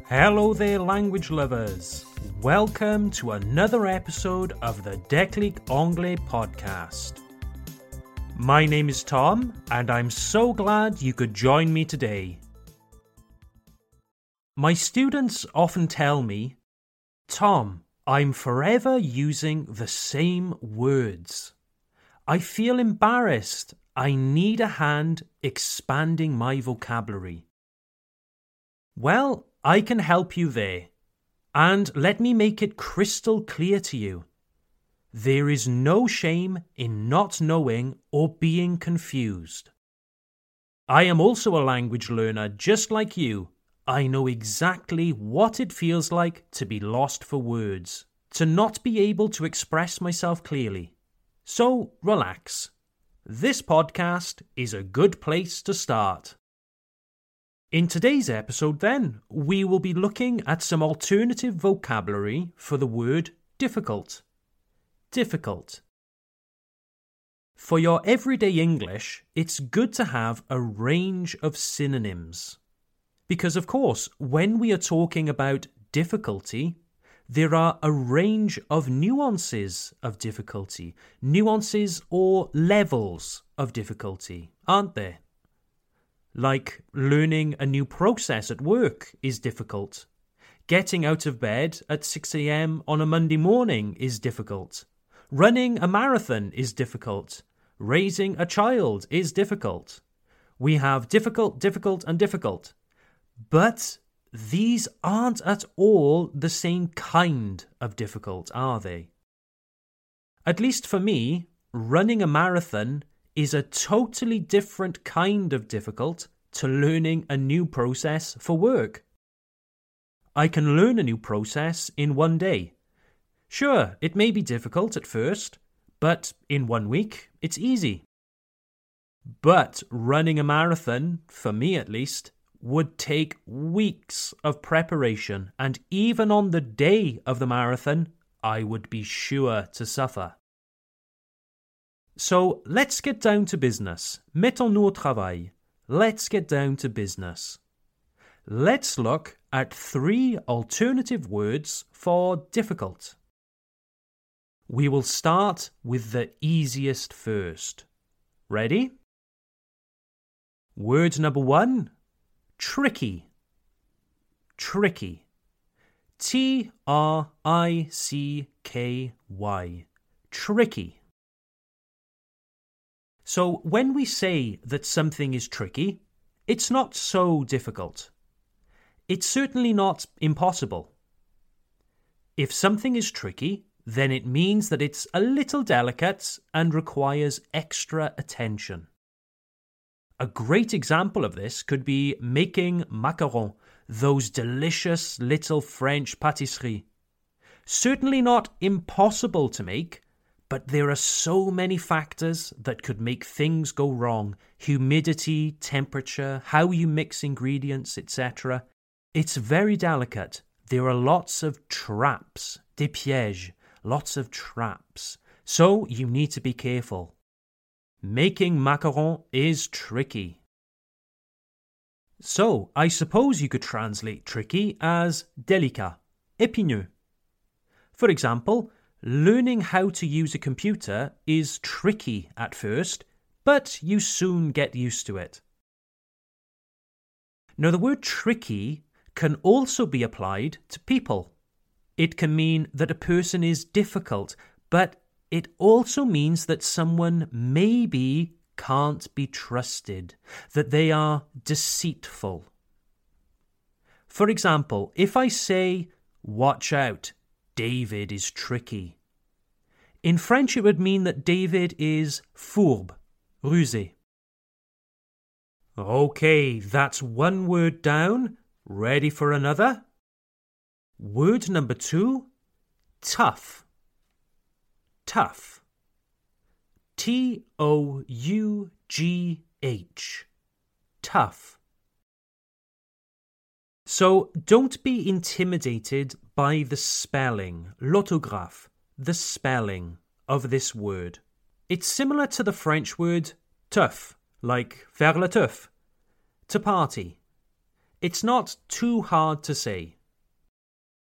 Hello there, language lovers. Welcome to another episode of the Déclic Anglais podcast. My name is Tom, and I'm so glad you could join me today. My students often tell me, Tom, I'm forever using the same words. I feel embarrassed. I need a hand expanding my vocabulary. Well, I can help you there. And let me make it crystal clear to you. There is no shame in not knowing or being confused. I am also a language learner just like you. I know exactly what it feels like to be lost for words, to not be able to express myself clearly. So relax. This podcast is a good place to start. In today's episode, then, we will be looking at some alternative vocabulary for the word difficult. Difficult. For your everyday English, it's good to have a range of synonyms. Because, of course, when we are talking about difficulty, there are a range of nuances of difficulty, nuances or levels of difficulty, aren't there? Like learning a new process at work is difficult. Getting out of bed at 6 a.m. on a Monday morning is difficult. Running a marathon is difficult. Raising a child is difficult. We have difficult, and difficult. But these aren't at all the same kind of difficult, are they? At least for me, running a marathon is a totally different kind of difficult to learning a new process for work. I can learn a new process in one day. Sure, it may be difficult at first, but in 1 week, it's easy. But running a marathon, for me at least, would take weeks of preparation, and even on the day of the marathon, I would be sure to suffer. So let's get down to business. Mettons-nous au travail. Let's get down to business. Let's look at 3 alternative words for difficult. We will start with the easiest first. Ready? Word number 1, tricky. Tricky. T-R-I-C-K-Y. Tricky. So when we say that something is tricky, it's not so difficult. It's certainly not impossible. If something is tricky, then it means that it's a little delicate and requires extra attention. A great example of this could be making macarons, those delicious little French pâtisseries. Certainly not impossible to make, but there are so many factors that could make things go wrong. Humidity, temperature, how you mix ingredients, etc. It's very delicate. There are lots of traps, des pièges, lots of traps. So you need to be careful. Making macarons is tricky. So I suppose you could translate tricky as délicat, épineux. For example, learning how to use a computer is tricky at first, but you soon get used to it. Now, the word tricky can also be applied to people. It can mean that a person is difficult, but it also means that someone maybe can't be trusted, that they are deceitful. For example, if I say, "Watch out, David is tricky." In French, it would mean that David is fourbe, rusé. Okay, that's one word down. Ready for another? Word number 2, tough. Tough. T-O-U-G-H. Tough. So don't be intimidated by the spelling, l'orthographe, the spelling of this word. It's similar to the French word teuf, like faire la teuf, to party. It's not too hard to say.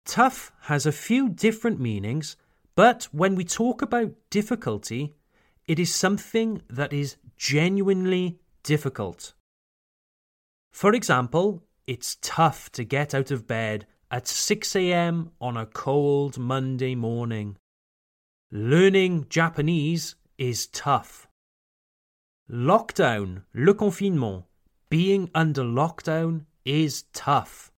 Tough has a few different meanings, but when we talk about difficulty, it is something that is genuinely difficult. For example, it's tough to get out of bed at 6 a.m. on a cold Monday morning. Learning Japanese is tough. Lockdown, le confinement, being under lockdown is tough.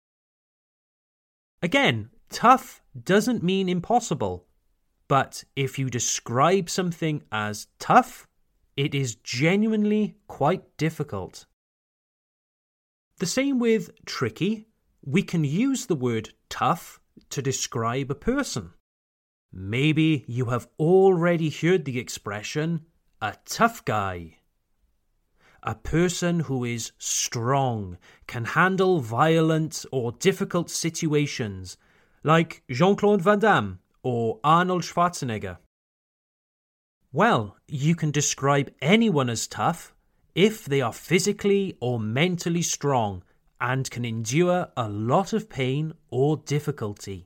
Again, tough doesn't mean impossible, but if you describe something as tough, it is genuinely quite difficult. The same with tricky. We can use the word tough to describe a person. Maybe you have already heard the expression, a tough guy. A person who is strong, can handle violent or difficult situations, like Jean-Claude Van Damme or Arnold Schwarzenegger. Well, you can describe anyone as tough if they are physically or mentally strong and can endure a lot of pain or difficulty.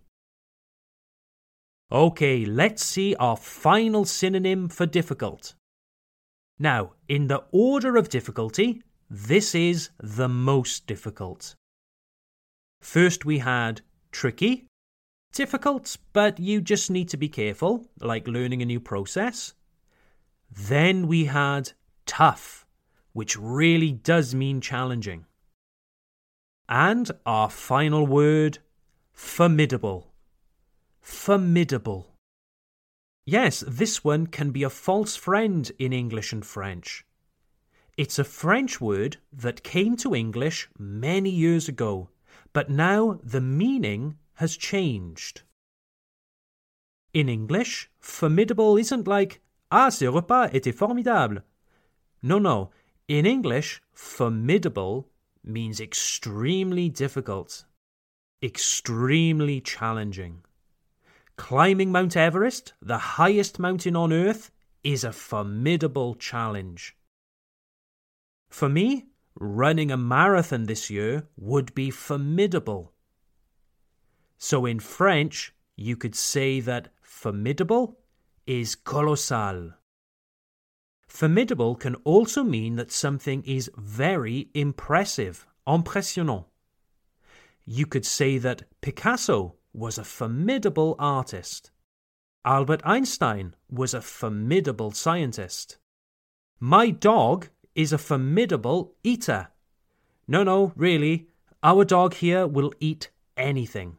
Okay, let's see our final synonym for difficult. Now, in the order of difficulty, this is the most difficult. First we had tricky, difficult, but you just need to be careful, like learning a new process. Then we had tough, which really does mean challenging. And our final word, formidable. Formidable. Yes, this one can be a false friend in English and French. It's a French word that came to English many years ago, but now the meaning has changed. In English, formidable isn't like, ah, ce repas était formidable. No. In English, formidable means extremely difficult, extremely challenging. Climbing Mount Everest, the highest mountain on Earth, is a formidable challenge. For me, running a marathon this year would be formidable. So in French, you could say that formidable is colossal. Formidable can also mean that something is very impressive, impressionnant. You could say that Picasso was a formidable artist. Albert Einstein was a formidable scientist. My dog is a formidable eater. No, really, our dog here will eat anything.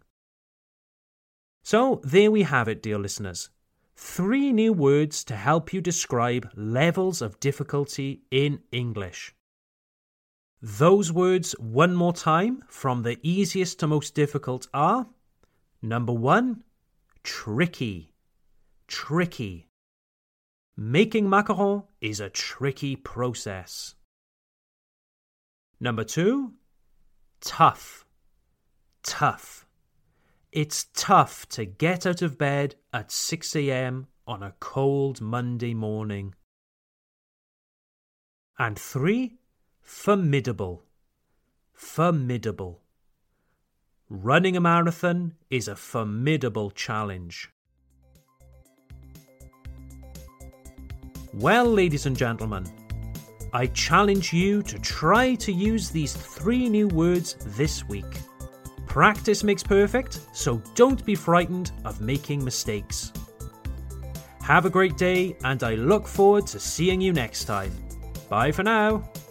So there we have it, dear listeners. 3 new words to help you describe levels of difficulty in English. Those words one more time from the easiest to most difficult are: number 1, tricky. Tricky. Making macaron is a tricky process. Number 2, tough. Tough. It's tough to get out of bed at 6 a.m. on a cold Monday morning. And 3, formidable. Formidable. Running a marathon is a formidable challenge. Well, ladies and gentlemen, I challenge you to try to use these 3 new words this week. Practice makes perfect, so don't be frightened of making mistakes. Have a great day, and I look forward to seeing you next time. Bye for now.